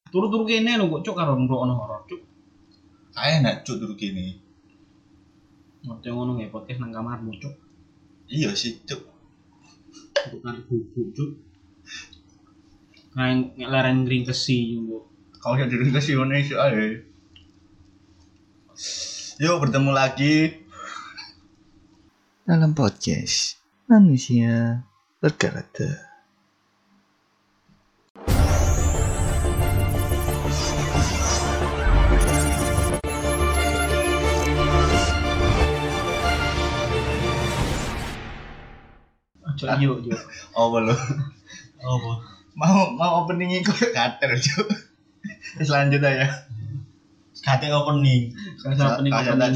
Turu-turu kene lho kok cuk karo ngrungokno horor cuk. Kae enak cuk turu kene. Ngono ngono nge podcast nang kamarmu cuk. Iya sih cuk. Bukan bubuk cuk. Kayak leren ngringkesi yo. Kau yang diri ke Indonesia aja. Yuk bertemu lagi dalam podcast Manusia Berkarakter. Yuk. Oh belum. Oh mau opening iku kater cuk. Selanjut aja. Kate opening. Opening.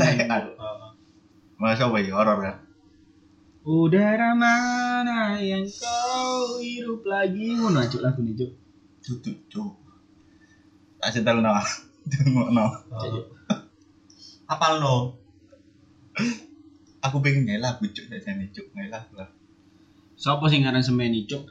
Masa apa ya horor ya? Udara mana yang kau hirup lagi? Ngono cuk lagu nih cuk. Cuk. Kasih tahu nama. Tunggu Apal no? Aku pengen ngelak cuk dasane cuk ngelak lah. Sopo sing ngaran semeni cuk?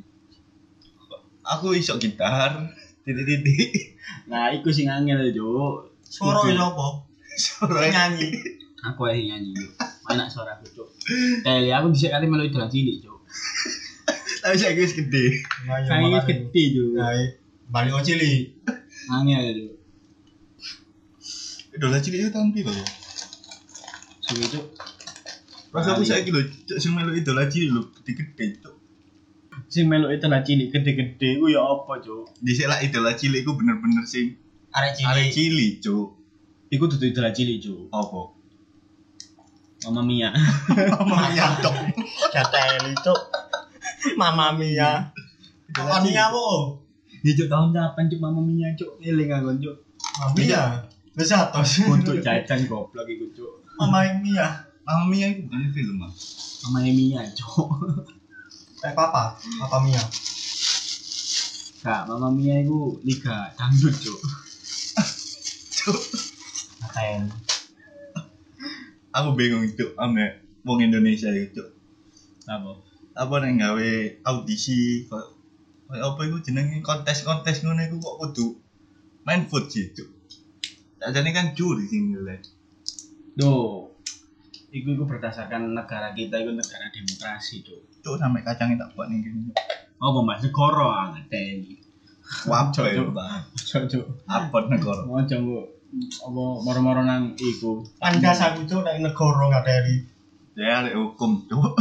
Aku iso gitar. Titik. Nah, iku sing angel cuk. Suara apa? Suara Nyanyi. Aku ae nyanyi cuk. Enak suara aku cuk. Aku bisa kali melu idola cilik cuk. Tapi saya wis gede. Saiki wis gede cuk. Balik o cilik. Angel cuk. Idola cilik itu tahun piro ya? Suwe cuk. Pas aku saiki lho, cuk sing melu idola cilik lho, gede-gede cuk. Sing melu idola cilik gede-gede ku ya apa cuk? Dhisik lah idola cilik ku bener-bener sing Arek cilik cuk. Iku dudu idola cilik cuk. Apa? Mama Mia. Mama Mia dong. Gateli cuk. Mama Mia. Mama Mia po. Ya cuk tahun kapan cuk Mama Mia cuk? Eling aku cuk. Mama Mia. Wis atos. Untuk jajan goblok iku cuk. Mama Mia. Mama Mia itu bukan film ah. Mama Mia cuk. Papa Mia. Kak, Mama Mia iku liga dangdut cuk. Cuk. Ngatain. Aku bingung cuk ame wong Indonesia itu cuk. Apa nek gawe audisi kok apa iku jenenge kontes-kontes ngono iku kok kudu main food sih cuk. Ajane kan juri sing nilai. Duh. Iku berdasarkan negara kita iku negara demokrasi cuk. Cuk sampe kacangnya tak buat ning kene. Apa Mas negara ngeteni. Wapo Cuk. Cuk. Apa negara? Ojo kok apa moro-moro nang iku. Pandas aku cuk nek negara ngateli. Ya arek hukum cuk.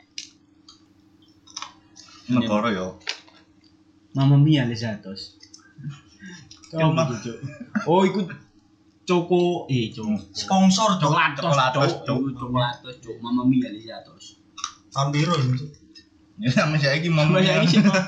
Negara yo. Mama Mia Lezatos. Cuk. Oh iku Coko Sponsor cuk. Coklatos cuk Mama Mia Lezatos. Tahun biru cuk. Ya sama saiki Mama Mia.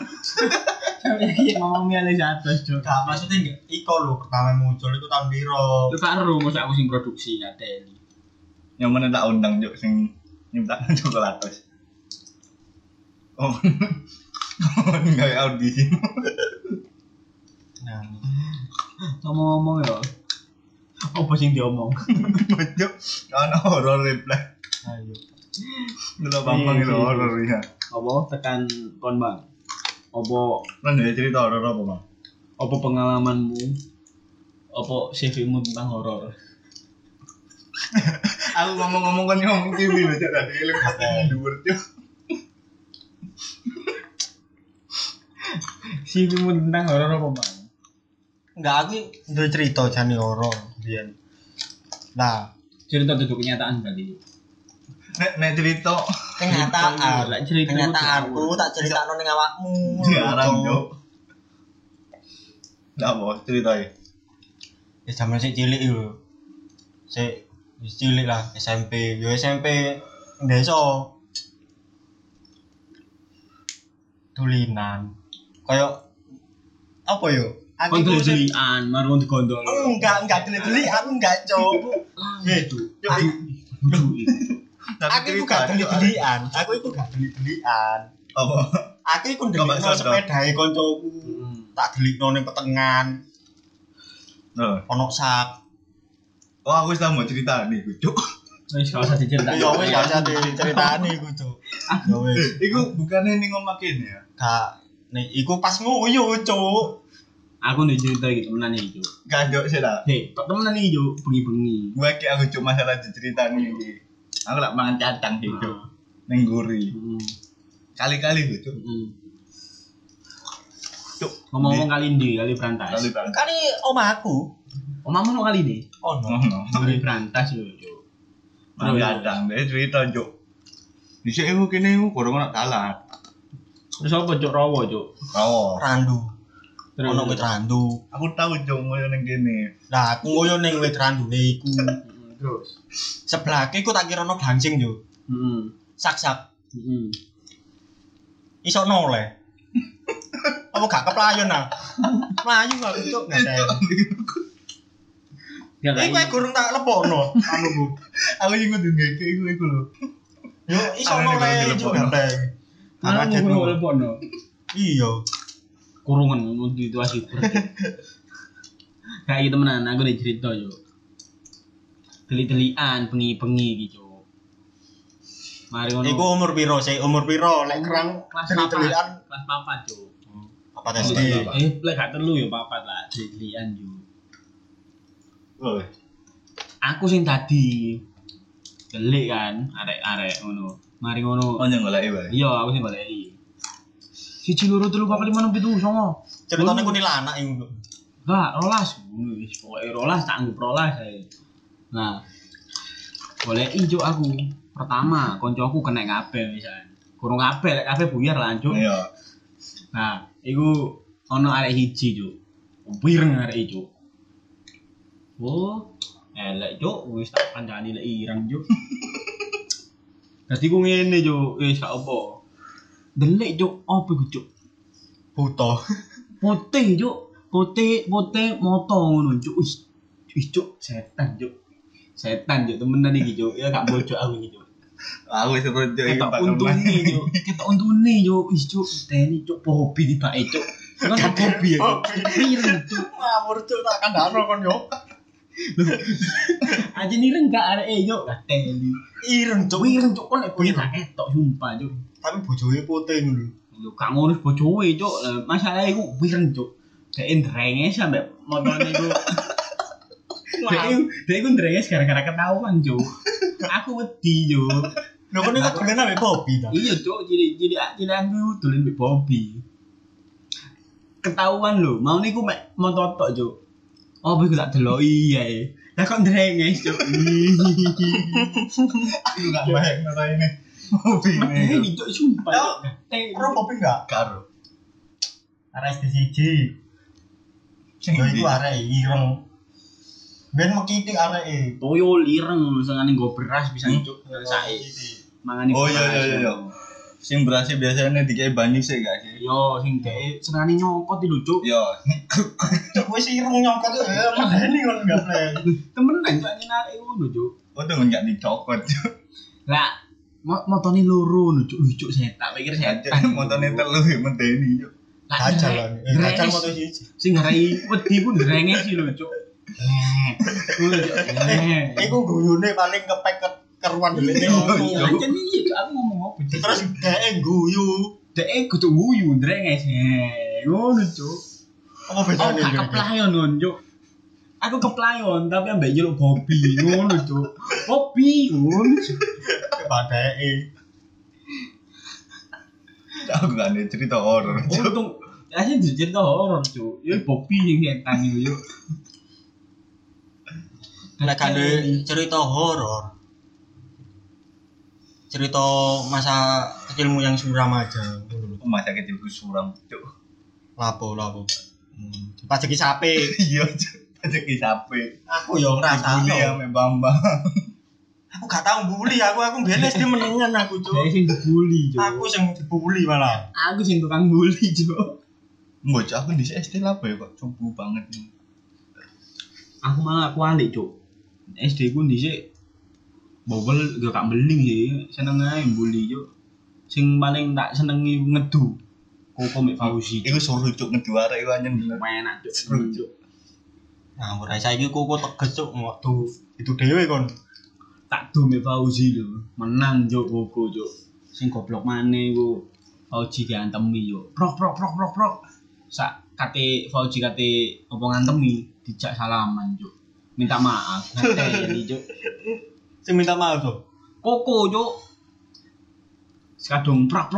Mama Mia Lezatos cuk. Gak maksudnya enggak iko lho pertama muncul itu tahun biru. Lu karo mosok aku sing produksi ngateni. Yang mana tak undang cuk sing nyiptakan coklatos. Oh. Enggak audisi. Nah, Ngomong ya. Apa sing diomong? Cuk, ana horor reply. ayo. Delok Bambang itu horor ya. Apa tekan kon Bang? Apa Kan ada cerita horor apa, Bang? apa pengalamanmu? Apa CV-mu tentang horor? Aku ngomong-ngomong kan ngomong TV lho, Cuk. Tadi lu katanya dhuwur, Cuk. CV-mu tentang horor apa Bang? Enggak aku duwe cerita jane horor biyen. Nah, Cerita duduk kenyataan berarti. Nek cerita kenyataan. Lek cerita Kenyataanku tak critakno ning awakmu. jarang, Cuk. Lah apa ceritae? Ya jaman sik cilik lho. Sik wis cilik lah SMP. Yo SMP desa. Tulinan. Kayak apa yo? Kon delian, marung digondol. Enggak deli aku enggak, Cuk. Itu. Aku iku gak deli-delian. Aku iku gak deli-delian. Apa? Aku iku ndelokno sepedahe koncoku. Tak delikno ning petengan. Heeh. Ono sak. Oh, aku wis tau mau cerita nih, Cuk. Wis gak usah diceritain. Ya wis gak usah diceritani iku, Cuk. Ya wis. Iku bukannya ning omah kene ya. Gak nek iku pas nguyu, Cuk. Aku nih cerita gitu temenan iki, Cuk. Gajok sih lah. Kok temenan iki, Cuk, bengi-bengi. Gue kayak aku cuma masalah cerita nih. Aku lak mangan cantang gitu. Neng guri. Kali-kali tuh, Cuk. Cuk, Ngomong-ngomong kali ndi, kali Brantas. Kali omahku. Omahmu no kali ndi? Oh no. Kali Brantas yo, Cuk. Mangan cantang deh cerita, Cuk. Dhisik aku kene aku kurang nak kalah. Terus apa, Cuk? Rawo, Cuk. Oh, Randu. Terus Ono wit randu. aku tahu Cuk ngoyo ning kene. Lah aku ngoyo ning wit randune iku. terus. Sebelahke iku tak kira ono gangsing yo. Heeh. Sak-sak. Heeh. Iso noleh. Apa gak keplayon ah? Mlayu aku cuk ngeten. Ya Iku ae gurung tak lepokno anuku. Aku yang kudu ngeke iku lho. Yo iso noleh cuk ngeten. Ana Aku ngono lepono. Iya. Kurungan mun situasi. Kayak gitu temenan, aku udah cerita yo. Teli-telian bengi-bengi gitu. Mari ngono. Iku umur piro sih? Umur piro? Lek kerang kelas teli-telian kelas 4, Cuk. apa SD? Lek gak telu yo 4 lah, teli-telian yo. Oh, Aku sing tadi delik kan, arek-arek ngono. Mari ngono. oh nyang golek wae. Iya, aku sing goleki. 1 2 3 4 5 6 7 9. Ceritane kuntilanak iku. Enggak, rolas. Wis pokoke rolas tak anggap rolas ae. Nah, goleki Cuk aku. Pertama, koncoku kena kabeh misalnya. Kurang kabeh, lek kabeh buyar lah, Cuk. Iya. Nah, iku ono arek siji, Cuk. Wireng arek Cuk. Oh, elek Cuk, wis tak kancani lek ireng Cuk. Dadi ku ngene Cuk, wis gak apa. Delik Cuk, opo iku Cuk? Buta. Putih Cuk, putih moto ngono Cuk. Wis Cuk, setan Cuk. Setan Cuk, temenan iki Cuk. Ya gak bocok aku iki Cuk. Aku wis rojo iki Ketok untune Cuk. Ketok untune Cuk. Wis Cuk, teni Cuk hobi tibake Cuk. Kan hobi ya. Ireng Cuk. Ngawur cuk tak kandhano kon yo. Aja nireng gak arek Cuk. Gateli. Ireng cuk. Ireng Cuk kok lek bengi tak ketok sumpah Cuk. Tapi bojone putih ngono. Lho gak ngono bojoe Cuk. Masalah iku wireng Cuk. Dek ndrenge sampe motone iku. Dek iku ndrenge gara-gara ketahuan Cuk. Aku wedi Cuk. Lho kon iku dolen ambek Bobby ta. Iya Cuk, jadi aku dolen mbek Bobby. Ketahuan lho, mau niku mek mototok Cuk. Oh, iku tak deloki ae. Lah kok ndrenge Cuk. Aku gak baik ngene. Hobi Ini ini. Cuk sumpah. Ora Bobby enggak? Karo. Arek SD1. Yo iku arek ireng. Ben mekitik areke. Toyo lireng sengane nggo beras bisa Cuk sae. Mangane Oh iya. Sing berasnya biasanya dikei banyu sih gak sih? Yo sing dek senengane nyokot lho Cuk. Yo. Cuk wis ireng nyokot medeni kon enggak play. Temenan Cuk nyenare ngono Cuk. Oh tuh enggak dicokot. Lah motone loro lho Cuk, lucu setan, pikir setan. Montone telu ya medeni yo. Gajal lan. Gajal moto siji. Sing ngarai wedi pun drenge sih lho Cuk. Iku guyune paling kepek keruan dhewe. Ancen iki Cuk, aku ngomong apa Cuk. Terus dhek guyu. Dek kudu guyu drenge sih. Ngono Cuk. Apa bedane? Gak keplayon ngono Cuk. Aku keplayon tapi ambek jeluk Bobby ngono Cuk. Bobby ngono Cuk. Badake. Aku gak ada cerita horor. Untung asli cerita horor Cuk. Ya Bobby sing setan yo. Nek kande cerita horor. Cerita masa kecilmu yang suram aja. Masa kecilku suram, Cuk. Lapo. Pajeki sape. Iya, Cuk. Rezeki sape. Aku yo ngrasakno. Dibully ame Bambang. Aku gak tau bully, aku biyen SD menengan aku, Cuk. Dek sing dibully Cuk. Aku sing dibully malah. Aku sing tukang bully Cuk. Mbok Cuk, aku di SD lah ya kok cupu banget. Aku malah kualik Cuk. SD ku dhisik bobol gak beling sih, seneng ae bully Cuk. Sing paling tak senengi ngedu. Koko mek Fauzi. Iku suruh Cuk ngejuara iku anjen bener. Enak Cuk. Seru, Cuk. Nah, ora saiki kok teges, Cuk, waktu itu dhewe kon. Tak do mek Fauzi lho. Menang Cuk koko Cuk. Sing goblok maneh ku Fauzi diantemi Cuk. Prok. Sak kate Fauji kate apa ngantemi dijak salaman Cuk. Minta maaf. Ngeteli Cuk. Sing minta maaf tuh. Koko Cuk. Sekadung prak.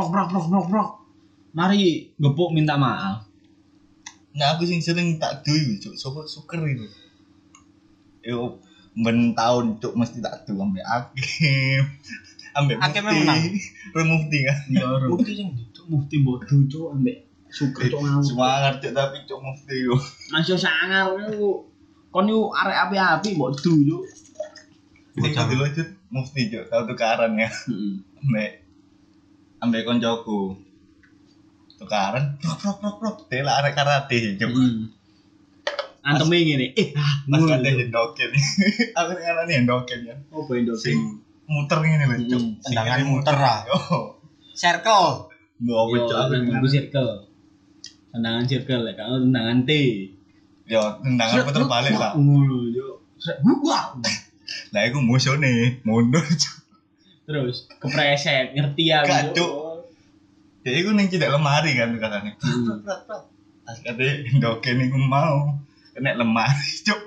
Mari gepuk minta maaf. Nah aku sing sering tak duwe cuk, sapa suker itu. Yo ben tahun cuk mesti tak duwe ambek Hakim. Ambek Hakim Mufti. menang. Mufti kan. Ya ora. Mufti sing Cuk Mufti bodoh Cuk ambek suka Cuk ngawur. Semangat cuk tapi cuk Mufti yo. Masih sangar yo. Kon yo arek api-api mbok du Cuk. Sing dulu cuk Mufti cuk, tau tukaran ya. Heeh. Ambek koncoku. Tukaran prok tela arek karate cuk. Anteme ngene. Mas kate hendoken. Aku ngarani hendoken ya. Oh, bendo Sing muter ngene lho cuk. Tendangan muter lah. Yo. Circle. Mbok Yo, cuk aku nang circle. Tendangan circle lek kalau tendangan T. yo tendangan puter balik lah. Ngono yo. Wah. Lah iku musuhne mundur cuk. Terus kepreset ngerti ya Gak, Cuk. Ya iku ning cedek lemari kan katane. Pas kate hendoken iku mau kena lemari cuk.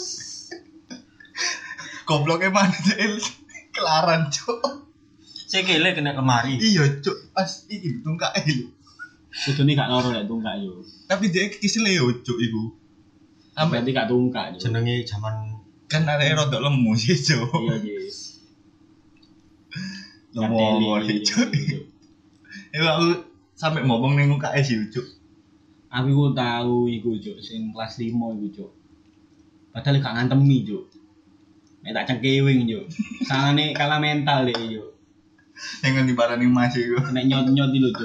Gobloknya mana cil kelaran cuk. Sikile kena lemari. Iya cuk pas iki tungkae lho. Kudune gak ngoro lek tungkak yo. Tapi dia kisile yo cuk iku. Sampai gak tungkak yo. Jenenge jaman Kan arek rodok lemu sih cuk. Iya, Jis. Lemu cuk. Iku aku sampe ngomong ning UKS sih cuk. Aku ku tahu iku Cuk, sing kelas 5 iku Cuk. Padahal gak ngantemi Cuk. Nek tak cengkewing Cuk. Sangane kalah mental deh Cuk. Sing ngendi parani Mas iku. Kena nyot-nyot lho Cuk.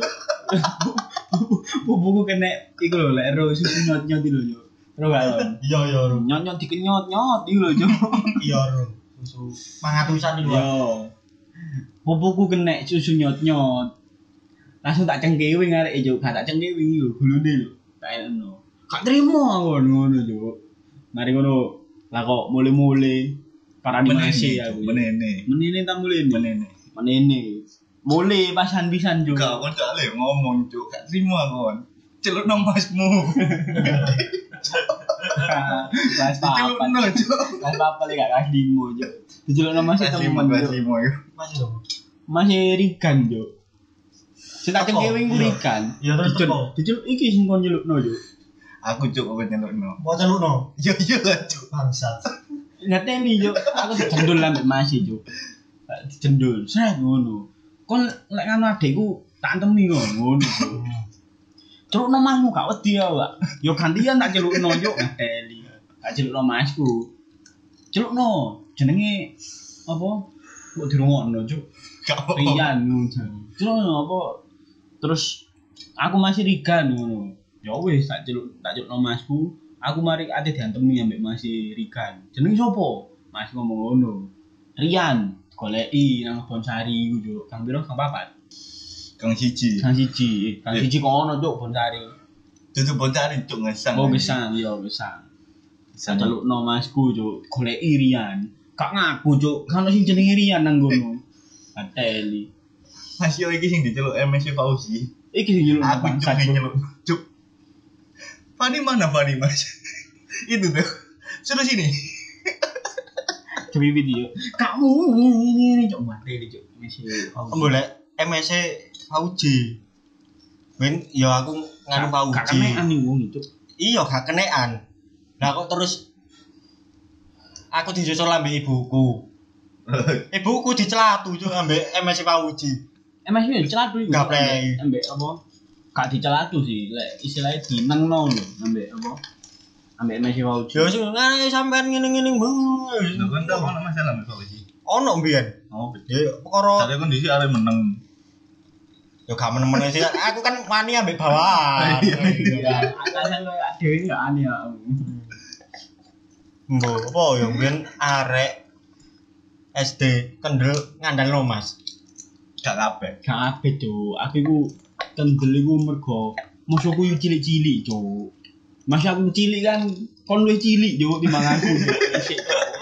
Buku kena iku lho lek ero susu nyot-nyot lho Cuk. Terus gak lho. iya Nyot-nyot dikenyot-nyot iku lho Cuk. iya susu pangatusan iki Yo. Buku kena susu nyot-nyot. Langsung tak cengkewing arek Cuk, gak tak cengkewing lho gulune lho. Tak eno. Gak trimo aku ngono Cuk. Mari ngono. Lah kok mule-mule parani masih aku. Menene ta mulene. Menene. Mule pasan pisan Cuk. Gak kon tak le ngomong cuk, gak trimo kon. Celukno masmu. Kelas papat. Celukno cuk. Kelas papat lek gak kelas 5 Cuk. Dijelukno masih temen Cuk. masih lho Masih Rigan Cuk. Sing tak cengkewing ku Iya. Rigan. Iya, terus teko. Dijeluk iki sing kon jelukno Cuk. Aku cuk kok nyelukno. mau celukno Iya lah cuk. bangsat Ngeteni Cuk. Aku dicendul ambek masih Cuk. Dicendul. Set ngono. Kon lek ngono adekku tak antemi ngono Cuk. Celukno masmu gak wedi ya, Pak. Yo gantian tak celukno Cuk ngeteli. Tak celukno masku. Celukno jenenge apa? Kok dirungokno Cuk. Gak apa. Rian ngono. Celukno apa? Terus aku masih Rigan ngono. Ya wis tak celukno masku. Aku mari ate diantemi ambek masih Rigan. Jenenge sapa? Mas ngomong ngono. Rian, goleki nang Bonsari iku Cuk. Kang piro? Kang papat. Kang siji. Kang siji kono Cuk Bonsari. Dudu boncari cuk ngesang. Oh gesang, iya gesang. Tak celukno masku Cuk. Goleki Rian. Gak ngaku Cuk. Kan sing jenenge Rian nang ngono. Ateli. Mas yo iki sing diceluk MS Fauzi. Iki sing nyeluk Aku cuk sing nyeluk cuk. Fani mana Fani Mas? Itu tuh. Suruh sini. Coba video. Kamu ini Cuk mati Cuk. Masih. golek MSC Fauji ben yo aku nganu Gak Fauji kenean nih wong itu. iya gak kenean lah kok terus aku disusul ambek ibuku dicelatu cuk ambek MSC Fauji Emang sih celatu iku. Gaplek. Ambek apa? Gak dicelatu sih, lek istilahnya dinengno lho ambek apa? Ambek Messi Fauji. yo sing ngene sampean ngene-ngene Lho kan tau ono masalah mbek Fauzi. ono mbiyen Oh, betul. ya perkara Tapi kondisi arek meneng. yo gak menemen sih aku kan wani ambek bawahan Ya, atasan koyo dhewe ya aneh ya. mbok apa yo mbiyen arek SD kendel ngandalno Mas Gak kabeh. Gak kabeh, Cuk. Aku iku kendel iku mergo musuhku yo cilik-cilik, Cuk. Masih aku cilik kan kon luwih cilik, Cuk, timbang aku. Isik.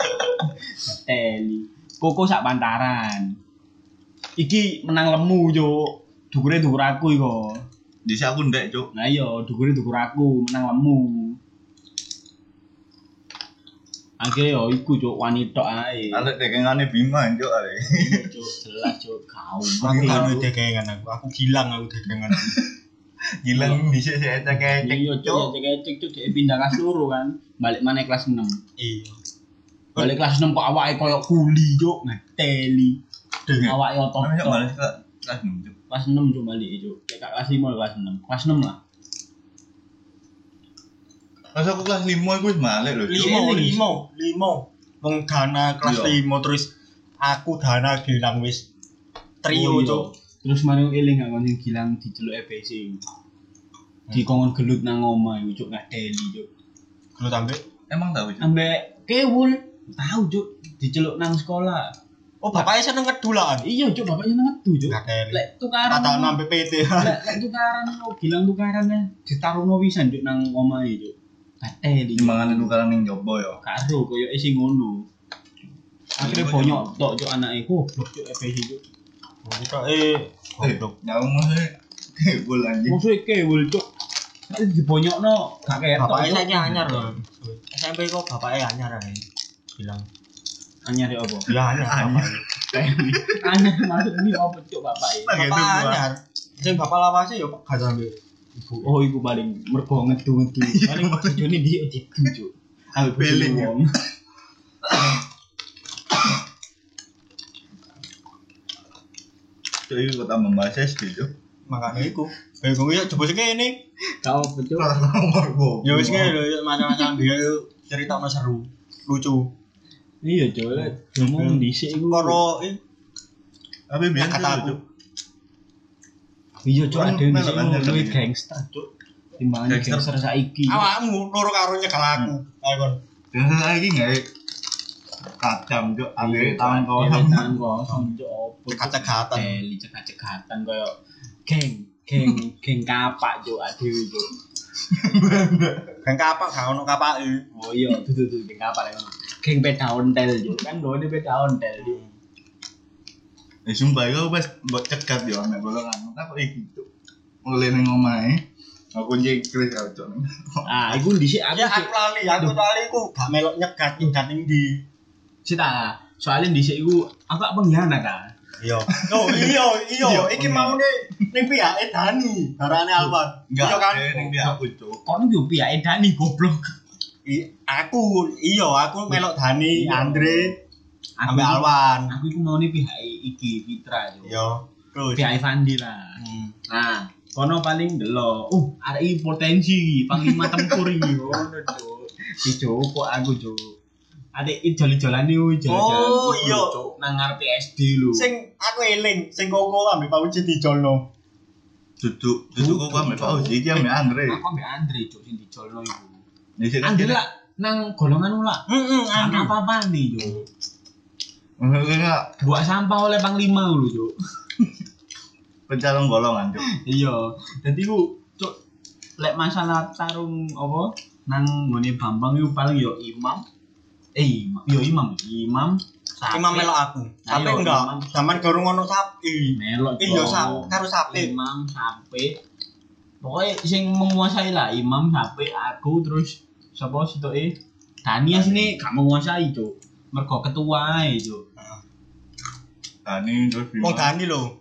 Teli. Koko sak pantaran. Iki menang lemu, Cuk. Dukure dukur aku iku. Dhisik aku ndek, Cuk. Nah iya, dukure dukur aku menang lemu. Akhirnya yo iku cuk wanita ae. Arek dekengane Bima, Cuk, arek. Iya, Cuk, jelas cuk kau. Aku kan dekengan aku gilang aku dekengan. Gilang dhisik sik ecek-ecek. Iya cuk, cek cuk dia pindah kelas loro kan. Balik mana kelas 6. Iya. Balik kelas 6 kok awake koyo kuli cuk, ngeteli. Awake otot. Namanya balik ke kelas 6, Cuk. Kelas 6 cuk balik cuk. Kayak kelas 5 kelas 6. Kelas 6 lah. Pas aku kelas 5 iku wis balik lho, Cuk. Limo. Wong Dana kelas Iya. 5 terus aku Dana Gilang wis trio iya. cuk. Terus mari eling gak kon sing Gilang diceluk EBC. Dikongkon gelut nang omah iku cuk ngadeli cuk. Lu tambe. Emang tahu, Cuk. Ambek kewul tahu cuk diceluk nang sekolah. Oh, bapaknya seneng ngedulaan. Iya cuk bapaknya ngetu cuk. Gak Lek tukaran. kata sampai PT. Lek tukaran lo Gilang tukarannya ditaruhno wisan cuk nang omahe cuk. Kateli. Mangane tukaran ning jopo ya. Karo koyo isi ngono. Akhirnya bonyok tok cuk anake goblok cuk EBC cuk. Kita goblok. Nyaung mah kebul anjing. Musuhe kewul cuk. Nek dibonyokno gak ketok. Bapaknya Cuk. saiki anyar loh. SMP kok bapaknya anyar ae. Bilang. Anyar ya apa? Ya anyar bapaknya. Anyar maksudnya apa cuk bapake? Bapak anyar. Sing bapak lawase yo gak sampe ibu. Oh iku paling mergo ngedu-ngedu. Paling bojone dia digu cuk. Aku Beling, wong. Cuk iki kok tambah bahas SD, Cuk. Makane iku. Bingung yo coba sing kene. Kau apa cuk? Kelas nomor Ya wis ngene lho macam-macam dia cerita seru, lucu. Iya cuk. Ngomong dhisik iku. Karo Tapi biyen kata aku. Cuk. Iya cuk Orang ada di melok sini anjir luwih tadi. gangster cuk. Timbangan Gangster. gangster saiki. Awakmu loro karo nyekel aku. Ayo kon. Dan saiki enggak kacam, Cuk. Ambil tangan Iya, kosong. tangan kosong cuk opo. Cekat-cekatan. Teli cekat-cekatan koyo geng kapak cuk adewe cuk. Geng kapak gak ono kapake. Oh iya, tuh geng kapak lek ngono. Geng peda ontel cuk. Kan gone peda ontel cuk. Sumpah iku wis mbok cegat yo nek golongan. Apa iki, Cuk? Mulai ning omahe. Aku jengkris karo Cuk. Ah, iku dhisik aku Ya aku lali ku gak melok nyegat ning ndi. Cita, soalnya dhisik iku aku gak pengkhianat kan. Iya. Oh iya. Iki mau ning pihake Dani, darane Alwan. Iya Enggak, kan? ning dia aku, Cuk. Kon yo piyake Dani goblok. Aku melok Dani, Andre, Aku ambek Alwan. Aku iku maune pihake iki Fitra yo. Iya. Terus. Pihake Fandi lah. Nah, kono paling delok. Arek iki potensi iki, panglima tempur iki. Ngono, Cuk. Dicopok aku, Cuk. Adek iki jol-jolane jalan-jalan. Oh, iku iya. lho, Cuk, nang ngarepe SD lho. Sing aku eling, sing koko ambek Pauci dijolno. Duduk kok ambek Pak Uji iki ambek Andre. Aku ambek Andre, Cuk, sing dijolno iku. Dhisik Andre lah nang golongan ula. Andre. Apa-apa nih, Cuk. Enggak Buat sampah oleh panglima lho, Cuk. pencalon golongan, Cuk. Iya, dadi ku cuk lek masalah tarung apa nang nggone Bambang iku paling yo Imam. Imam Sapi. Imam melok aku. Sapi Ayo, enggak. Imam. Zaman gorong ono sapi. Melok. Iya Cuk. karo sapi. Imam Sapi. Pokoknya sing menguasai lah Imam Sapi aku terus sapa sitoke Dani asine gak menguasai, Cuk. Mergo ketua ae, Cuk. Dani terus Wong Dani lho.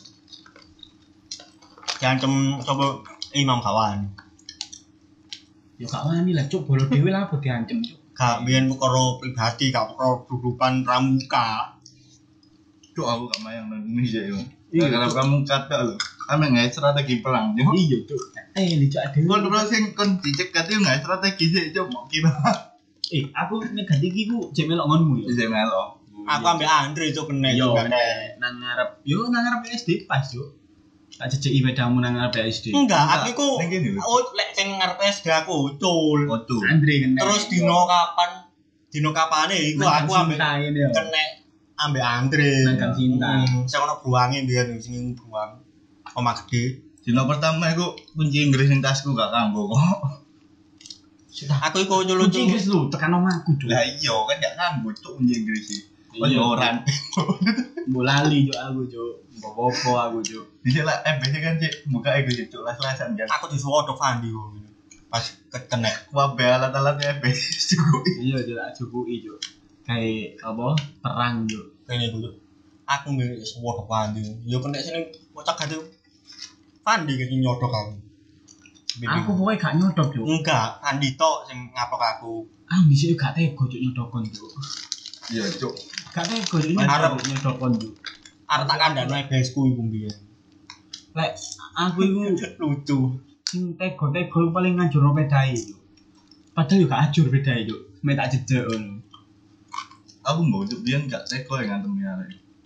Diancem sapa Imam kawan. Yo gak wani lah, Cuk. Bolo dhewe lah apa diancem, Cuk. Gak biyen perkara pribadi, gak perkara grupan pramuka. Cuk aku gak mayang nang Indonesia yo. Iya, Karena Cuk. kamu kata lho. Ame nggak strategi perang, Cuk. Iya, Cuk. Licok dhewe. Kon terus sing kon dicegat yo nggak strategi sih, Cuk. Mau kira. Aku nek ganti iki ku jek melok ngonmu ya. Bisa melo. Aku ambek Andre cuk kene Yo juga. nang ngarep SD pas yo. Tak jejeki pedamu nang ngarep SD. Enggak, aku iku Ning kene lho. oh lek sing ngarep SD aku ucul. Otu. Andre kena. Terus dino kapane iku aku ambek ngene yo. kene ambek Andre. Nang Gang Cinta. Sing ono bruange mbiyen sing bruang. Omah gede. Dino pertama iku kunci Inggris ning tasku gak kanggo kok. Aku iku Kunci nyulucu. Inggris lu tekan omahku, Cuk. Lah iya kan gak kanggo, Cuk, kunci Inggris sih. Iya orang. Mbok lali cuk aku cuk. Mbok aku cuk. Bisa lah biasanya kan cek buka ego cuk las-lasan kan. Aku disuwodok Fandi kok. Pas kena Wabe alat-alatnya cukup. Iya cuk tak cukuki cuk. Kayak apa? Perang cuk. kene iku. Aku nggih suwodok Fandi. Ya kena sini kocak gade. Fandi iki nyodok aku. Aku pokoknya gak nyodok cuk. Enggak, Fandi tok sing ngapok aku. Ah dhisik gak tega cuk nyodokon cuk. Iya cuk. Gak tega cuk nyodokon cuk. Arep tak kandhane besku iku mbiyen. Lek aku iku Lucu. sing tega-tega paling ngajur pedae cuk. Padahal yo gak ajur pedae cuk. Mek tak jejek ngono. Aku mau cuk dia gak teko yang ngantem ya.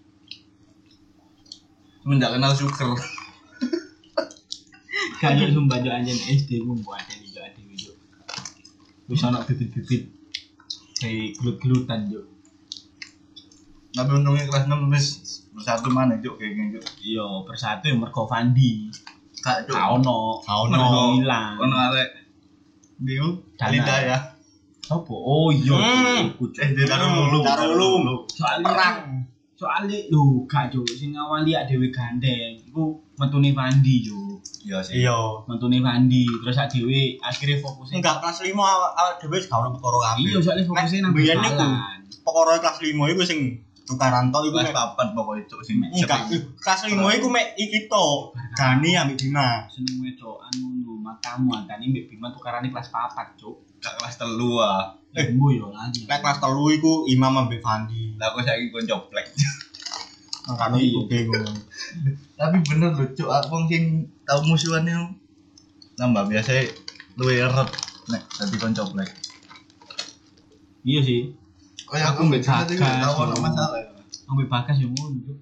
Cuma gak kenal syukur. Kayak sumpah cuk anjen SD ku mbok ade cuk ade cuk. Wis ana bibit-bibit kayak gelut-gelutan cuk. Tapi untungnya kelas 6 wis bersatu mana cuk kayak gitu. Iya, persatu yang mergo Fandi. Kak cuk. Gak ono ilang. Ono arek. Diu Dana. Linda ya. Sopo? Oh iya, iku cuk. Dia Darululum. Soalnya lho gak cuk sing ngawali ak dhewe gandeng iku metune Fandi cuk. Iya sih. Iya. Metune Fandi terus ak dhewe akhire fokusnya Enggak kelas 5 awak dhewe gak ono perkara kabeh. iya soalnya fokusnya nang Biyen iku balan. perkara kelas 5 iku sing tukaran tok iku Kelas mek papat pokoknya cuk sing enggak kelas 5 iku mek iki tok. Gani ambek Bima. Seneng wedokan ngono matamu antane mbek Bima tukarane kelas 4 cuk. gak kelas 3 ah. Embo yo lagi. Nek kelas 3 iku Imam ambek Fandi. Lah aku saiki kon coplek. Makane iku bingung. Tapi bener lho cuk aku wong sing tau musuhan itu nambah biasa luwe eret nek dadi kon coplek. Iya sih. Kayak aku mbek Cina iki Bagas, tau ono yo. masalah. Ambek Bagas yo ngono cuk.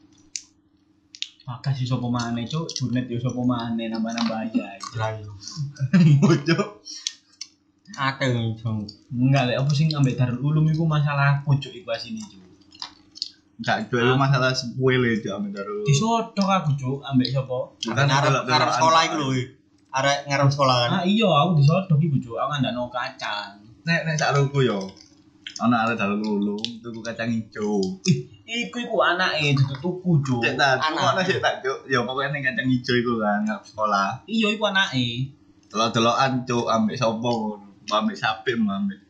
Bagas iso apa maneh cuk, Junet yo sapa maneh nambah-nambah aja. Lah yo. Cuk. Akeh jong. Enggak lek apa sing ambek Darul Ulum iku masalah cuk iku asine cuk. Gak jual masalah sepele cuk ame karo. Disodok aku cuk ambek sapa? Bukan Arep sekolah iku lho. Arek ngarep sekolah kan. Ah iya aku disodok iku cuk, aku ndakno kacang. Nek sak ruku yo. Ana arek dalu lulu tuku kacang ijo. Iku anake tuku cuk. Cek tak, Anak. ana sik tak cuk. Ya pokoknya ning kacang ijo iku kan ngarep sekolah. Iya iku anake. Delok-delokan cuk ambek sapa ngono. Ambek sapi ambek.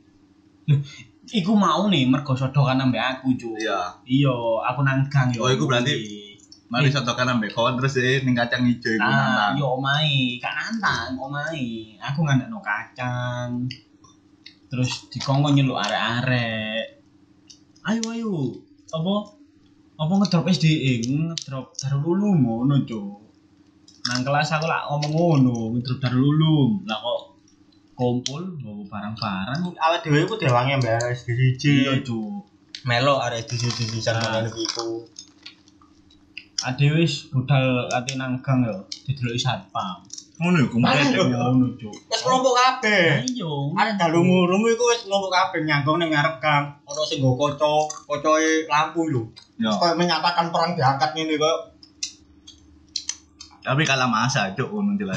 Iku mau nih mergo sodokan ambek aku cuk. Iya. Iya, aku nang gang yo. Oh, iku berarti Mari sotokan ambek kon terus ning kacang ijo iku Nah, nantang. yo omahe, gak nantang omahe. Aku ngandakno kacang. Terus dikongkon nyeluk arek-arek. Ayo. Apa ngedrop SDE, ngedrop Darul Ulum ngono, Cuk. Nang kelas aku lak ngomong ngono, ngedrop Darul Ulum. Lah kok kumpul bawa barang-barang. Awak dhewe iku dewange mbak SDJ. Iya, Cuk. Melo arek SDJ pisan Ah. ngono iku. Ade wis budal ati nang gang yo, dideloki satpam. Ngono iku Ayo. Ngono, Cuk. Wis kelompok kabeh. Iya. Arek dalu ngurung iku wis kelompok kabeh nyanggong ning ngarep gang. Ono sing nggo kaca-kacoe lampu lho. Ya. Terus koyo menyatakan perang diangkat ngene kok. Tapi kalah masa cuk ngono jelas.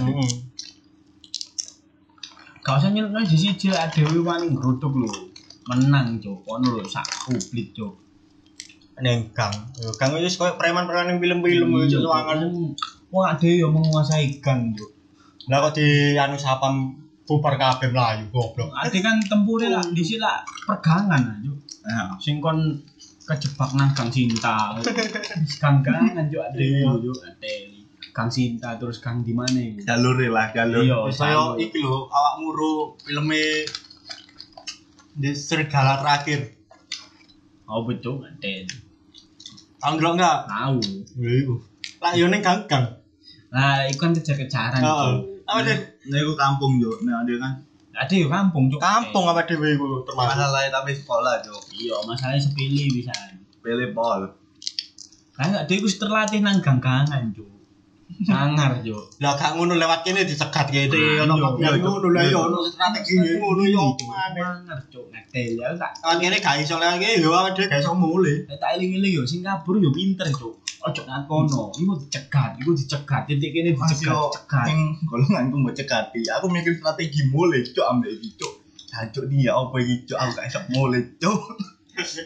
Gak usah nyeluk di siji lah dhewe wani ngrutuk lho. Menang, Cuk. Ono lho sak publik, Cuk. Ning gang. Yo gang wis koyo preman-preman ning film-film yo ruangan. Wong ade yo menguasai gang, Cuk. Lah kok di anu sapam bubar kabeh mlayu goblok. Ade kan tempure lah dhisik lah pergangan lah, Cuk. Nah, Sing kon kejebak nang gang Cinta. Gang-gangan Cuk ade yo, Cuk. Ade. Gang Cinta terus gang di mana iku? jalur lah jalur. Iya, Wis koyo iki lho awak muru filme di serigala terakhir. Oh betul ade. Tahu ndelok enggak? Tahu. Iku. Lah yo ning gang-gang. Lah iku kan kejar-kejaran, Heeh. Cuk. Apa deh? Nah iku kampung yo. Nah dia kan Ade yo kampung, Cuk. Kampung apa dhewe iku termasuk. masalah tapi sekolah cuk. Iya, masalahnya sepele bisa. Pilih pol. Kayak ade iku terlatih nang gang-gangan, Cuk. Sangar, Cuk. Lah gak ngono lewat kene dicegat kene Iya, ono iya, mafia iya, ngono lah yo ono strategi ngono yo. Sangar, Cuk. Ngedel ya tak. Kan kene gak iso lewat kene yo awake dhewe gak iso mulih. Tak eling-eling yo sing kabur yo pinter, Cuk. Ojo ngakono, iku dicegat, titik kene dicegat. Sing golonganku mau cekati. Aku mikir strategi mulai cuk ambek iki cuk. Jancuk dia apa iki cuk aku gak iso mulai cuk.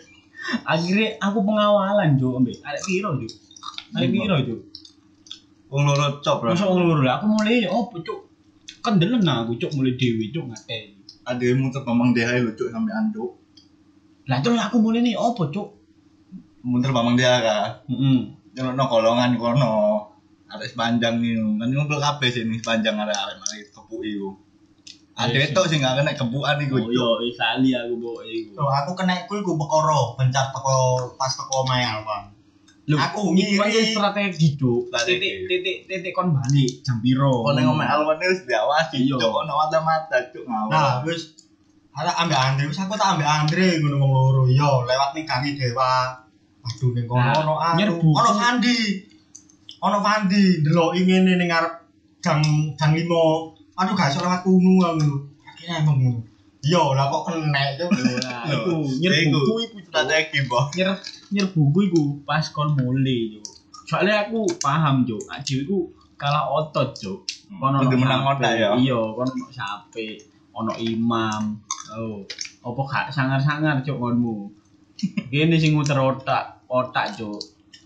Akhirnya aku pengawalan cuk ambek arek piro cuk. Arek piro cuk. Wong loro cop lah. Masa wong loro lah aku mulai ya opo cuk. Kendelen aku cuk mulai dewi cuk ngate. Ada yang muter Bambang Deha lu cuk sampai anduk. Lah terus aku mulai nih opo cuk. Muter Bambang Deha kan. Heeh. Jono kolongan kono. Arek sepanjang nih. Kan ngumpul kabeh sini sepanjang arek mari kepuki ku. Ada itu sing gak kena kebukan iku Oh cuk. iya Isali aku bawa iku. Loh, aku kena iku perkara bencar pas teko omahe Alwan. Lho, Aku iki kan ngiri. strategi cuk. Strategi. Titik kon balik jam piro. Kok ning omah Alwan wis diawasi Iya. cuk ono mata-mata cuk ngawur. Nah, wis ada ambek Andre, wis aku tak ambek Andre ngono wong loro. Yo, lewat ning gangi Dewa. Waduh ning kono Nah, ono nyerbu. ono Fandi. Ono Fandi ndeloki ngene ning ngarep gang 5. Aduh gak iso lewat kuno aku. Akhirnya emang ngono. Yo, lah kok kena cuk. Nah, iku nyerbuku iku Cuk. strategi boh. Nyerbuku iku pas kon mulai cuk. Soalnya aku paham cuk, aji iku kalah otot cuk. Kono Kudu menang sape. otak ya. Iya, kono ono sape, ono imam. Oh, opo gak sangar-sangar cuk konmu. Kene sing muter otak cuk.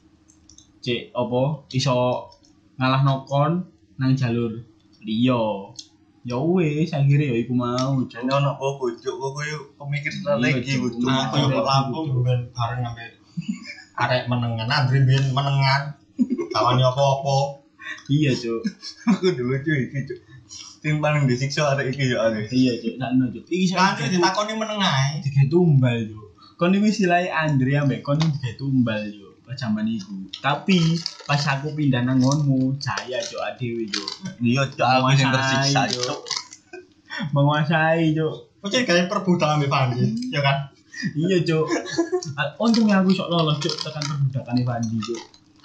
Cek opo iso ngalahno kon nang jalur liya. Ya wis akhire ya iku mau cuk. Jane ono kok cuk kok yo pemikir strategi Iya, ku Cuk. cuk. Aku yo kok Lampung ben bareng ambek arek menengan Andre ben menengan. Tawani apa-apa. Iya cuk. Aku dulu cuy iki cuk. Sing paling disiksa arek iki yo arek. Iya cuk, sakno cuk. Iki Andre ditakoni menengae. tiga tumbal cuk. Kon iki silai Andre ambek kon tiga tumbal cuk. Pas zaman iku. Tapi pas aku pindah nang ngonmu, jaya cuk adewe cuk. Iya cuk aku sing tersiksa Menguasai, cuk. Menguasai cuk. Kok jadi kayak perbudakan ambek Fandi, ya kan? Iya cuk. Untungnya aku sok lolos cuk tekan perbudakan Fandi cuk.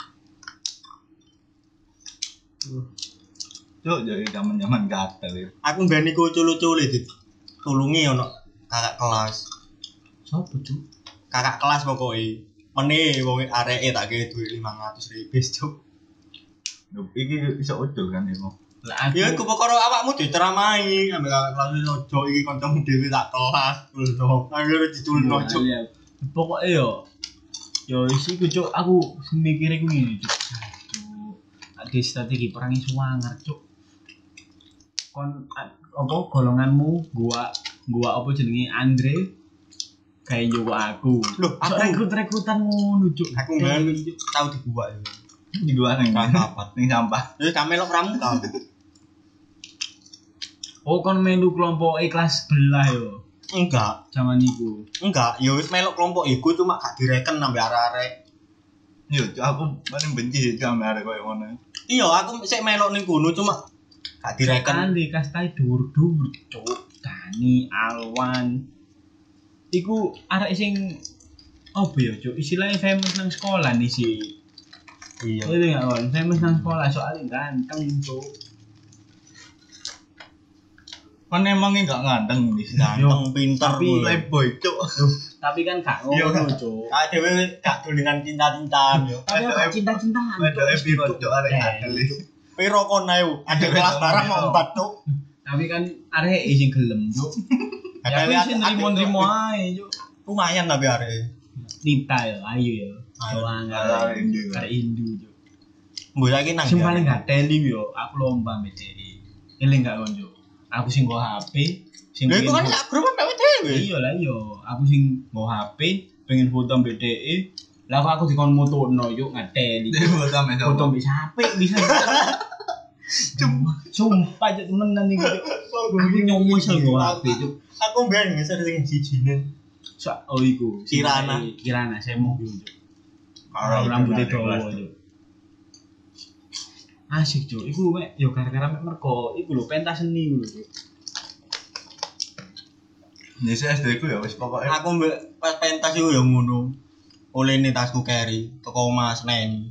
Cuk jadi zaman-zaman gatel ya. Aku ben iku culu-culu ditulungi ono kakak kelas. Sopo cuk? Kakak kelas pokoke. Mene wong areke tak kei duit 500.000 cuk. Lho iki iso ucul kan iku. Lah aku Ya iku perkara awakmu diceramahi ambek kakak kelas ojo iki kancamu dhewe tak kelas lho. Akhire diculno cuk. Iya. Pokoknya yo isi ku cuk aku mikir iku ngene cuk. Cuk. Ada strategi perangi suwangar cuk. Kon apa golonganmu gua apa jenenge Andre kayak juga aku. Loh, Sok aku rekrutan ngono cuk. aku ben tau dibuat yo. Di dua nang Papat. ning sampah. Ya kamelok pramuka. Oh kon melu kelompok kelas sebelah yo. Enggak, Zaman iku. enggak. Ya wis melok kelompok iku cuma gak direken ambek arek-arek. Yo cuk aku paling benci sama arek koyo ngono. Iya, aku sik melok ning kono cuma gak direken. Kan di kastai dur-dur cuk. Dani Alwan. Iku arek sing apa ya cuk? Istilahnya famous nang sekolah nih sih. Iya. Itu enggak kon, famous nang sekolah soalnya ganteng cuk. Kan emangnya enggak ngandeng di sini. Ganteng, pinter, Tapi- Playboy cuk. Tapi kan gak Iya, ngono kan? cuk. Kak dhewe gak dolengan cinta-cintaan yo. Tapi Ada aku cinta-cintaan. Ada Cuk. piro cuk arek ngandel iki. Piro kon ae? Ada kelas barang mau 4 cuk. Tapi kan arek sing gelem cuk. Ya wis nrimo-nrimo ae cuk. Lumayan tapi arek. Nita ya, ayo ya. Ayo. Soalnya Arek Indo. arek Indo cuk. Mbok saiki nang. Sing paling gak teli yo, aku lomba mbek DE. Eling gak kon cuk. Aku sing nggo HP, sing Lha iku kan pengen sak grup ambek dhewe. iya lah yo, aku sing nggo HP, pengen foto mbek DE. Lah kok aku dikon motono yuk ngateli. Dia buat sama Foto mbek HP bisa. Sumpah cuk temenan iki cuk. Aku nyomosel nggo HP cuk. Aku ben ngeser sing sijine. Oh iku, Kirana. Kirana saya mau cuk. Karo Rambutnya dawa cuk. Asik cuk, iku mek yo gara-gara mek merko, iku lho pentas seni iku lho cuk. Nyese SD ku ya wis pokoke Aku mbek pas pentas iku ya ngono. Olehne tasku carry teko Mas Neni.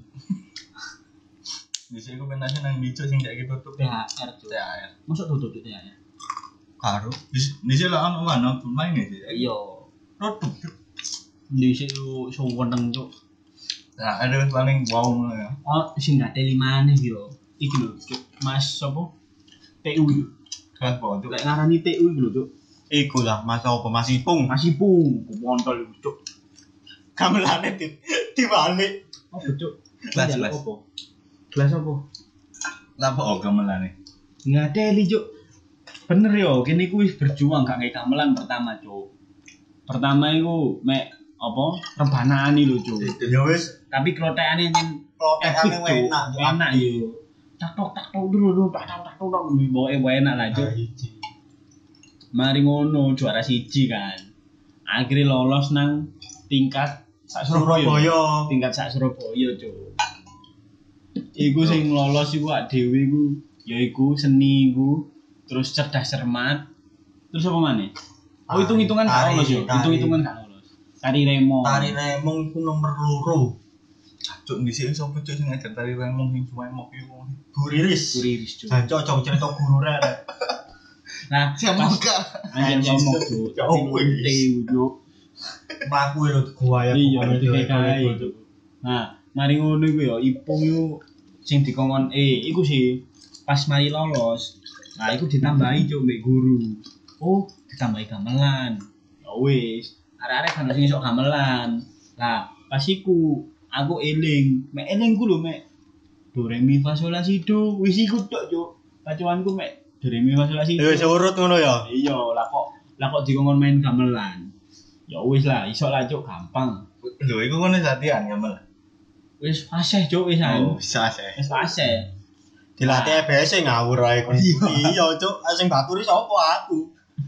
nyese ku pentasnya nang dicu sing kayak gitu tuh. THR cuk. THR. Masuk tutup THR. Karo. Nyese lah ono mana main iki. Iya. Tutup cuk. Di situ suweneng cuk. Nah, ada paling wow ngono ya. Oh, sing gak teli maneh yo. Iki lho cuk, Mas sapa? TU. Kan po cuk. Lek ngarani TU iku lho cuk. Iku lah Mas apa Mas Ipung. Masih pung, kontol iku cuk. gamelane dibalik. Oh, Cuk. Gelas. Apa? Gelas apa? Lapa gamelane? Ngadeli, Cuk. Bener yo, kene ku wis berjuang gak kayak gamelan pertama, Cuk. Pertama iku mek apa? Rebanaan lho, Cuk. Ya wis, Tapi klotekane nyen klotekane epic, Cuk. enak. Enak yo. Tak dulu, tak bawa enak lah, Cuk. Mari ngono juara siji kan. Akhirnya lolos nang tingkat sak Surabaya. Tingkat sak Surabaya, Cuk. Iku sing lolos iku ak dhewe iku yaiku seni iku, terus cerdas cermat. Terus apa maneh? Oh, hitung-hitungan gak lolos yo. Hitung-hitungan gak lolos. Tari remong. Tari remong iku nomor 2. Cuk dhisik sapa cuk sing ngajar tari remong sing cuma emok iku. Bu Riris. Cuk. Jancok cerita guru rek. Nah, Semoga anjen ngomong Cuk. Cuk. Mlaku lho gua ya. Iya, kae. Nah, mari ngono iku ya Ipung iku sing dikongkon iku sih pas mari lolos. Nah, iku ditambahi Cuk mbek guru. Oh, ditambahi gamelan. Ya wis, arek-arek kan sing iso gamelan. Lah, pas iku aku eling ku lho mek do re mi fa sol la si do. Wis iku tok Cuk. Pacuanku mek do re mi fa sol la si do. Wis urut ngono ya. Iya, lah kok dikongkon main gamelan. Ya wis lah, iso lah Cuk, gampang. lho iku kono latihan gamel. Wis fasih Cuk wisan. Oh, bisa sih. Wis fasih. Dilatih EBS ngawur ae kon. Iya, Cuk. Sing baturi sapa aku?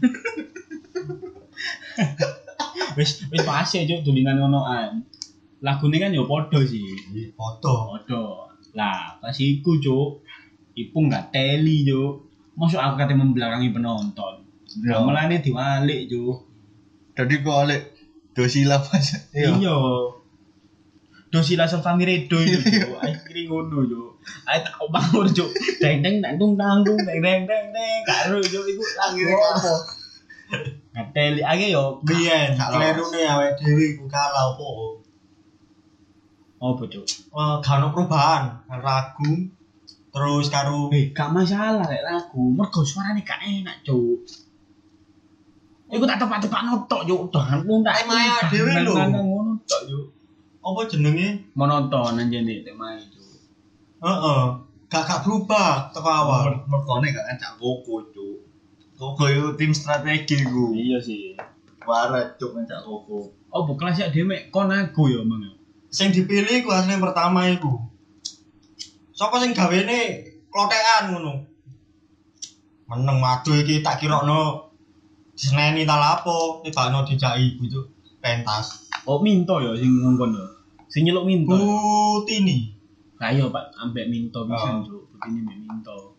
Wis fasih Cuk dolingan ngonoan. Lagune kan ya padha sih. Foto. Padha. Lah, pas iku Cuk, Ipung gak teli Cuk. Mosok aku kate membelakangi penonton. Gamelane diwalik Cuk. Dadi kok oleh dosila pas. Iya. Dosila Sofami Redo itu Cuk. Akhire ngono Cuk. Ae tak bangun Cuk. Deng deng tung tanggung deng deng karo Cuk iku lagu apa? Ngateli ae yo Biyen klerune awake dhewe iku kalah opo. apa Cuk? Gak ono perubahan. Ragu terus karo Gak masalah lek lagu, mergo suarane gak enak Cuk. Iku tak tepak-tepakno tok Cuk. Dohanku tak Temae dhewe lho. ngono tok Cuk. apa jenenge? Monoton anjene temae Cuk. Heeh. Gak berubah teko awal. Merkone gak ngajak Koko, Cuk. Koko itu tim strategi ku. Iya sih. Warat Cuk ngajak Koko. Oh, bu kelas ya dhewe mek kon aku ya, Mang. Sing dipilih ku asli pertama iku. Sapa sing gawene klothekan ngono. Meneng madu iki tak kirokno diseneni ta lapo, tibakno dijaki ibu Cuk. Pentas. Oh, Minto ya sing ngongkon ya. Sing nyeluk Minto. Butini. Lah iya Pak, ambek Minto pisan Cuk. Butine mek Minto.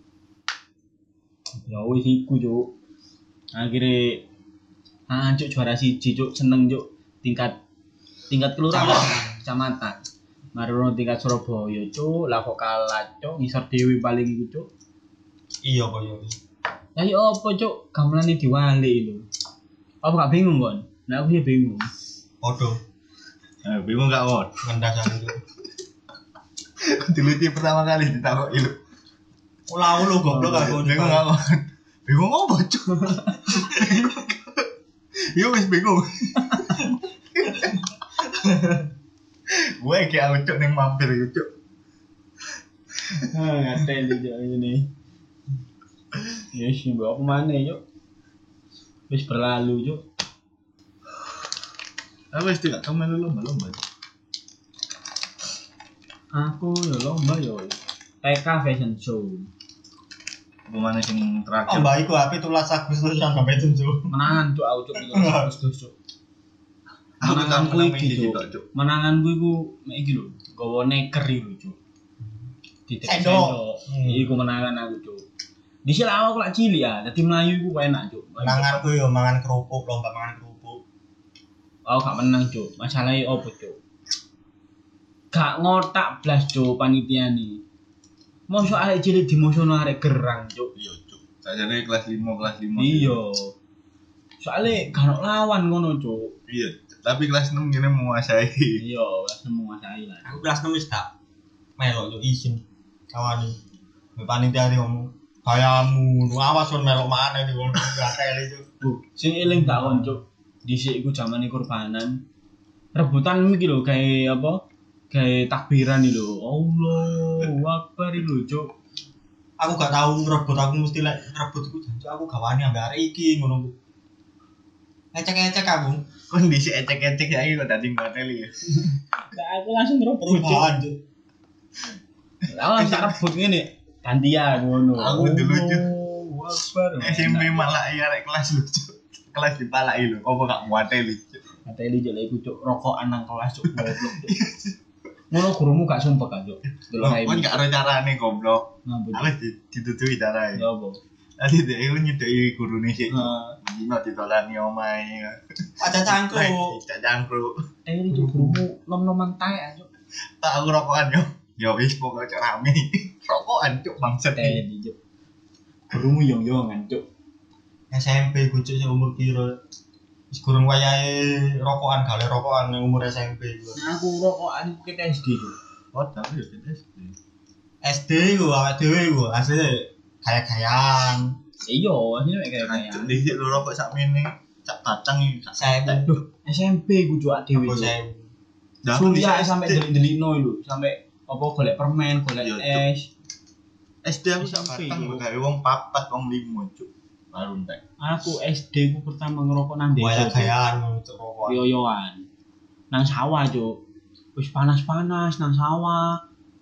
Ya wis iku Cuk. Akhire Cuk juara siji Cuk, seneng Cuk. Tingkat kelurahan, kecamatan. Marono tingkat Surabaya Cuk, lah kok kalah Cuk, ngisor dhewe paling iku Cuk. Iya kok ya. Lah yo apa Cuk, gamelane diwali lho. Apa gak bingung kon? Nah aku sih bingung. Podo. Bingung gak wot? Ngendasane Cuk. Diliti pertama kali ditakoki lho. Ulah lu goblok aku Bingung gak wot? Bingung apa, Cuk? Yo wis bingung. Gue kayak aku Cuk ning mampir iku Cuk. Ngateli Cuk ini. Yes, mbok apa maneh Cuk? Wis berlalu Cuk. Apa sih gak kamu lomba-lomba? Aku ya lomba yo. TK Fashion Show. Pemane sing terakhir. Oh, mbak iku api tulas Agustus sampai 7. Menangan Cuk aku Cuk itu Agustus Cuk. Menanganku iki Cuk. Menanganku iku mek iki lho, gawa neker iku Cuk. Titik sendok. Iku menangan aku Cuk. Dhisik awak lak cilik ya, dadi mlayu iku enak Cuk. Manganku yo mangan kerupuk, lomba mangan kerupuk. Aku gak menang Cuk. Masalahe opo Cuk? Gak ngotak blas Cuk panitiane. Mosok arek cilik dimosono arek gerang Cuk. Iya Cuk. Sajane kelas 5 Iya. Soale gak ono lawan ngono Cuk. Iya, tapi kelas 6 gini menguasai. Iya, wis menguasai lah. Aku kelas 6 wis gak melok yo izin kawani. Mbek panitia ngomong, "Kayamu, awas kon melok maneh iki wong gak teli Cuk." Bu, sing eling tak kon Cuk. Dhisik iku jamane kurbanan. rebutan iki lho gawe apa? Gawe takbiran iki lho. Allahu Akbar iki lho, Cuk. Aku gak tau ngerebut, aku mesti lek ngerebut iku janji aku gawani ambek arek iki ngono ku. Ecek-ecek aku. Kondisi ecek-ecek saiki kok dadi ngateli ya. Nah, aku langsung ngerebut, Cuk. Perubahan, Cuk. Aku langsung rebut ngene. Gantian ngono. Aku dulu, Cuk. Allahu Akbar. SMP malah arek kelas lucu. Kelas dipalaki lho, apa gak muateli. Ngateli Cuk lek iku Cuk rokokan nang kelas Cuk goblok. Cuk. Ngono gurumu gak sumpek kan, Cuk. Delok ae. Kon gak ero carane goblok. Ngambut. Aku ditutui carae. Ya apa? Tadi dhek iku nyedeki gurune sik. Heeh. Dino ditolani omahe. Aja cangkruk. Tidak jangkruk. Teli Cuk gurumu nom-noman taek Cuk. Tak aku rokokan yo. Ya wis pokoke cok rame. Rokokan cuk bangsat. Teli Cuk. Gurumu yong-yongan Cuk. SMP ku Cuk sing umur piro? Wis gurung wayahe rokokan, gale rokokan nang umur SMP iku. Nah, aku rokokan iku ket SD Cuk. Oh, tapi yo SD. SD iku awake dhewe iku asline gaya-gayaan. Iya, asline kayak Cuk dhisik lho rokok sakmene. Cak kacang iki. Saya Aduh, SMP ku Cuk dhewe. aku saya Sulia sampai delik-delikno lho, sampai apa golek permen, golek Iya, Cuk. es. SD aku sak SMP, batang Cuk. gawe wong 4 wong 5 cuk. Baru entek. Aku SD ku pertama ngerokok nang desa. Cuk. gaya-gayaan untuk rokokan. Yoyoan. Nang sawah, Cuk. Wis panas-panas nang sawah.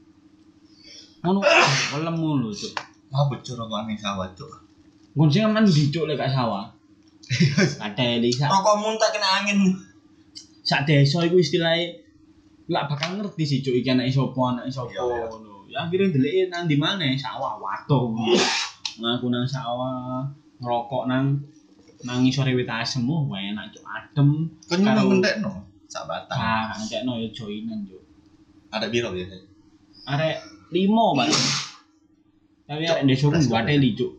Ngono kelemu lho, Cuk. Apa cuk rokokan ning sawah cuk. Nggon sing aman ndi Cuk lek gak sawah. Kateli Rokokmu tak kena angin. sak desa iku istilahnya lak bakal ngerti sih Cuk iki anake sapa Iya, iya. ngono. Ya akhirnya ndeleke nang ndi maneh sawah waduh. Ngaku nang sawah ngerokok nang ngisore wit asem enak Cuk adem. Kon nyemeng entekno sak batang. Ah, entekno ya joinan Cuk. Ada biro biasa. Arek 5 Pak. Tapi arek desa ku wateli Cuk.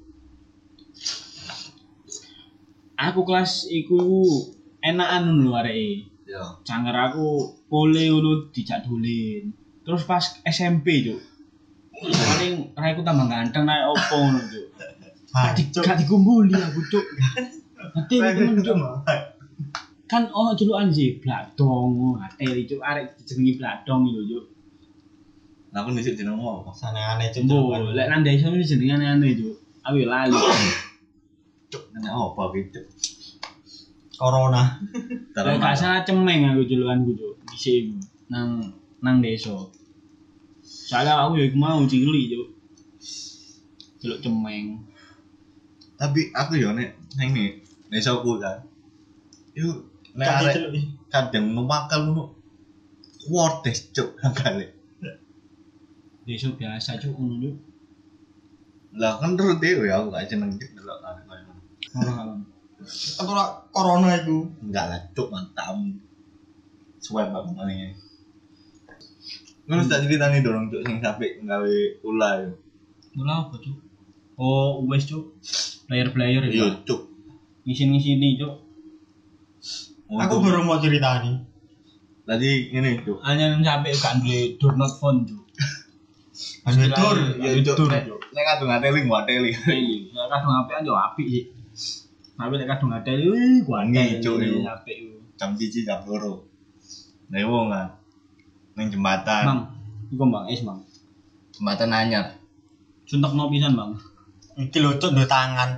Aku kelas iku enakan lho areke. Yo. Canger aku pole ngono dijak dolin. Terus pas SMP, Cuk. Paling raiku tambah ganteng naik opo ngono, Cuk. Gak dikumpuli aku, Cuk. Ate temen, Cuk. Kan ono julukan sih Bladong, ate Cuk arek dijenengi Bladong lho, Cuk. Lah aku nisik jenengmu apa? Senengane Cuk. Mbok, lek nang desa iki jenenge aneh, Cuk. Aku yo lali. Cuk, nanya apa gitu? Corona. Lek gak salah cemeng aku julukanku, Cuk. Dhisik nang desa. Soalnya aku ya iku mau cilik, Cuk. Celuk cemeng. Tapi aku yo nek nang ni desaku kan. Iku nek arek kadang numakal ngono. Wortes cuk kali. Desa biasa, Cuk, ngono, Cuk. Lah kan terus dhewe aku gak seneng cuk delok arek koyo ngono. Ora kalon. Apa corona iku? Enggak lah cuk mantap. Suwe banget ngene. Ngono tak ceritani dorong cuk sing sampe nggawe ulah yo. Mula apa, Cuk? Oh, wes, Cuk. Player-player Yo ya. cuk. Ngisi-ngisini, Cuk. Aku baru mau ceritani. Tadi ngene cuk. Hanya sampai gak duwe door not phone, Cuk. Tur, Ya cuk. Nek kadung ngateli ngateli. Iya, nek kadung apian yo apik sih. Tapi nek kadung ngateli, wih, Wangi, Cuk, iku. apik iku. Jam 1 jam 2. Nek wong kan ning jembatan. Bang, iku Bang, Bang. Jembatan anyar. Suntekno pisan, Bang. iki lho Cuk, duwe tangan.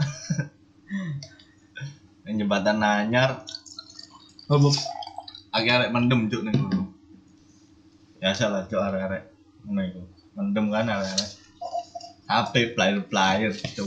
Ning jembatan anyar Oh, arek mendem cuk ning ngono. Biasa lah cuk arek-arek ngono iku. Mendem kan arek-arek. HP player cuk.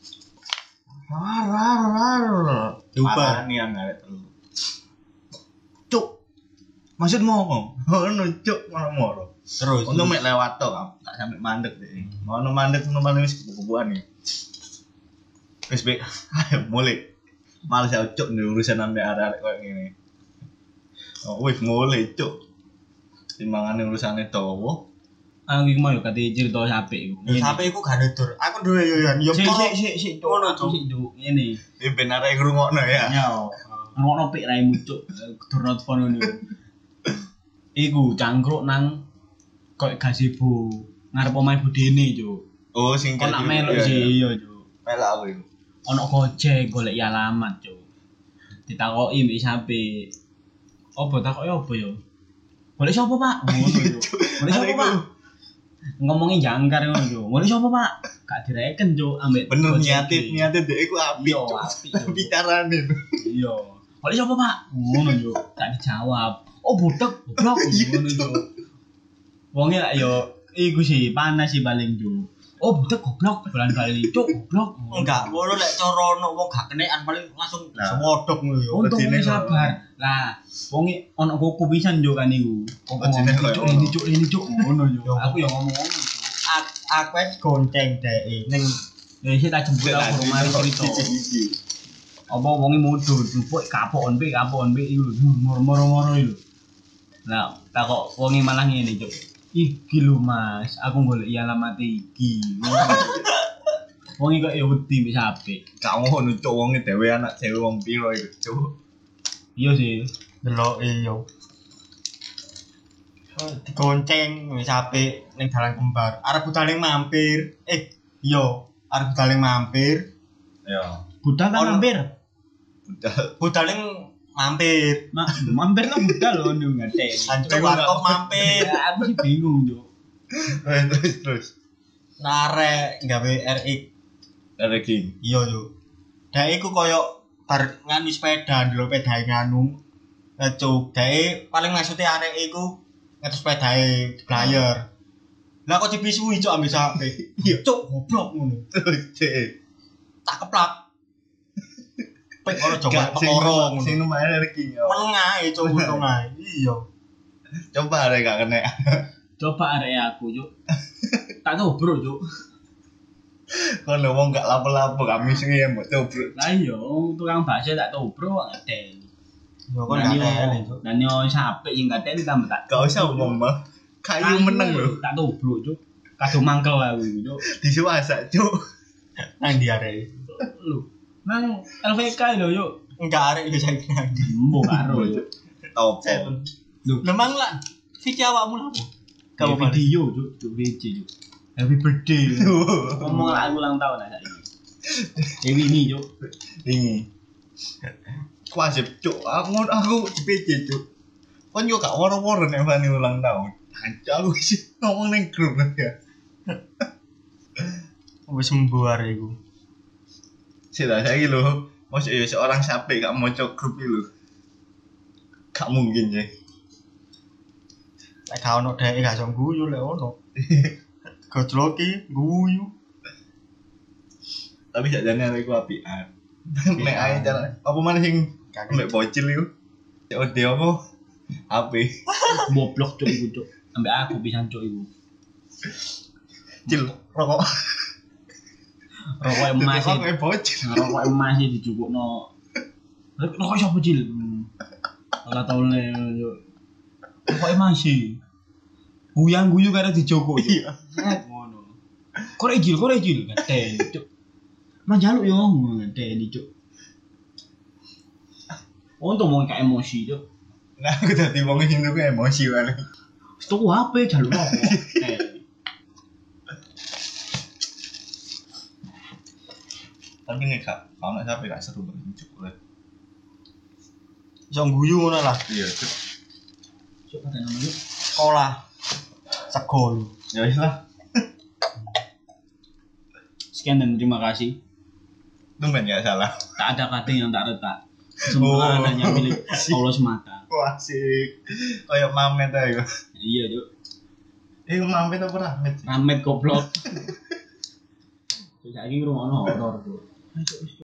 Diubah. Parani arek telu. Cuk. Maksudmu apa? Ngono cuk ngono-ngono. Terus. Untuk mek lewat tok tak sampe mandek deh. Ngono mandek wis kubu-kubuan nih. Wis baik. Ayo mulai. Males ya cuk nih urusan ambek arek-arek koyo ngene. Oh, wis mulai cuk. Timbangane urusane dawa. Aku iki mau yo kate cerita HP iku. Sampai iku gak ada tur. Aku duwe yo yo. Sik, Ngono, Cuk. Cuk, ngene. Iki ben arek ngrungokno ya. Yo, ngono pik raimu, Cuk. Door not phone ngono. Iku cangkruk nang koyo gazebo ngarep omahe budene, Cuk. Oh, sing Kok nak melok sih iya, Cuk. Melok aku iku. Ono Gojek golek alamat, Cuk. Ditakoki mbek sampe Apa takoke apa ya? Golek sapa, Pak? Ngono yo. Golek sapa, Pak? Ngomongin jangkar ngono yo. Golek sapa, Pak? Gak direken, Cuk, ambek. Bener gojek niate iki. dhek iku apik. Yo, Cuk. apik. Yo. Bicarane. Iya. Golek sapa, Pak? Ngono yo. Gak dijawab. Oh, budek, goblok. Ngono yo. Wonge lak yo iku sih panas sih paling Cuk. Oh, budek goblok, bulan-bulan Cuk, goblok. Enggak, ngono lek cara ono wong gak kenekan paling langsung Nah. semodok ngono yo. Untung Wedine wis kok. sabar. Lah, wonge ono kuku pisan yo kan iku. Kok Wedine ngomong, kok Cuk, ngono. ini Cuk, ngono yo. Yo. Aku yo ngomong ngono. Cuk. Aku wis gonceng dhek ning Ya sih tak jemput aku rumah cerita. Apa wonge mudhun, jupuk kapokon pe iku lho, moro-moro iku. Nah, tak kok wonge malah ngene, Cuk. Iki lho Mas, aku golek alamat iki. Wonge kok ya wedi wis apik. Gak ngono cuk wonge dhewe anak dhewe wong piro iku cuk. Iya sih. deloke yo. Digonceng wis apik ning dalan kembar. Arep budal mampir. Yo, arep budal mampir. Ya, Budal kan Ono. mampir. budal Budal mampir. Mampir lah budal lho ning ngate. Lanjut warkop mampir. Ya, aku sih bingung, Cuk. terus. Narek gawe RX. Ranking. Iya yo. Dhek iku koyo bar nganu sepeda, ndelok pedae nganu. Cuk, dhek paling maksude arek iku ngetes pedae blayar. Lah kok dibisui cuk ambek sampe. Iya cuk, goblok ngono. Terus cek. Tak keplak. Pek ora coba Gak sing perkara sing ngono. lumayan ranking ya. Meneng ae cuk untung ae. Iya. Coba arek gak kena. Coba arek aku, Cuk. Tak tahu, Bro, Cuk. Kon wong gak lapo-lapo kami sing ya mbok coba. Lah iya, tukang bakso tak tahu, Bro, ngate. Yo kon gak tele cuk. Dan yo sampe sing ngate ditambah tak. Gak usah ngomong. Kayu meneng lho. Tak tahu, Bro, Cuk. Kado mangkel aku, Cuk. Disuwasa cuk. Nang ndi arek? Lho, nang LVK lho, Cuk. Enggak arek iki saiki nang ndi. Mbok karo, Cuk. Top. Lho, Memang lah Vicky awakmu lapo? kamu Kamu video, Cuk, Cuk VC, Cuk. Happy birthday. Ngomong lah aku ulang tahun lah saiki. Dewi ini, Cuk. Ini. Wajib cuk. Aku di PJ cuk. Kon yo gak woro-woro nek Fani ulang tahun. Anjir aku sih ngomong ning grup ya. wis sembuh arek iku. Sila saiki lho. Mosok ya seorang sampai gak maca grup iki lho. Gak mungkin ya. Lek gak ono dhek gak iso guyu lek ono. Gojlok iki guyu. Tapi sakjane arek iku apian. Nek ae cara apa maneh sing mek bocil iku. COD apa? HP. Goblok, Cuk, iku, Cuk. Ambek aku pisan, Cuk, iku. Cil rokok. Rokok emas Rokok mek bocil. rokok emas iki dijupukno. Rokok sapa cil? Ora tau le. Rokok emas iki. Guyang guyu karo dijoko. Iya. Ngono. Korek jil, gaten, Cuk. Manjaluk yo gaten, Cuk. Untung mau kayak emosi, Cuk. Nah, aku dadi wong sing tuku emosi wae. Tuku HP jaluk rokok. Tapi nek gak ono sampe gak seru banget cuk. Iso guyu ngono lah. Iya cuk. Cuk, paten ngono yuk. Sekolah. Segol. Ya wis lah. Sekian dan terima kasih. Tumben gak salah. Tak ada kata yang tak retak. Semua hanya milik Allah semata. Wah asik. Kayak Mamet ae. Iya, Cuk. Mamet apa Rahmat? Ramet goblok. Terus saiki ngrungokno horor, Cuk.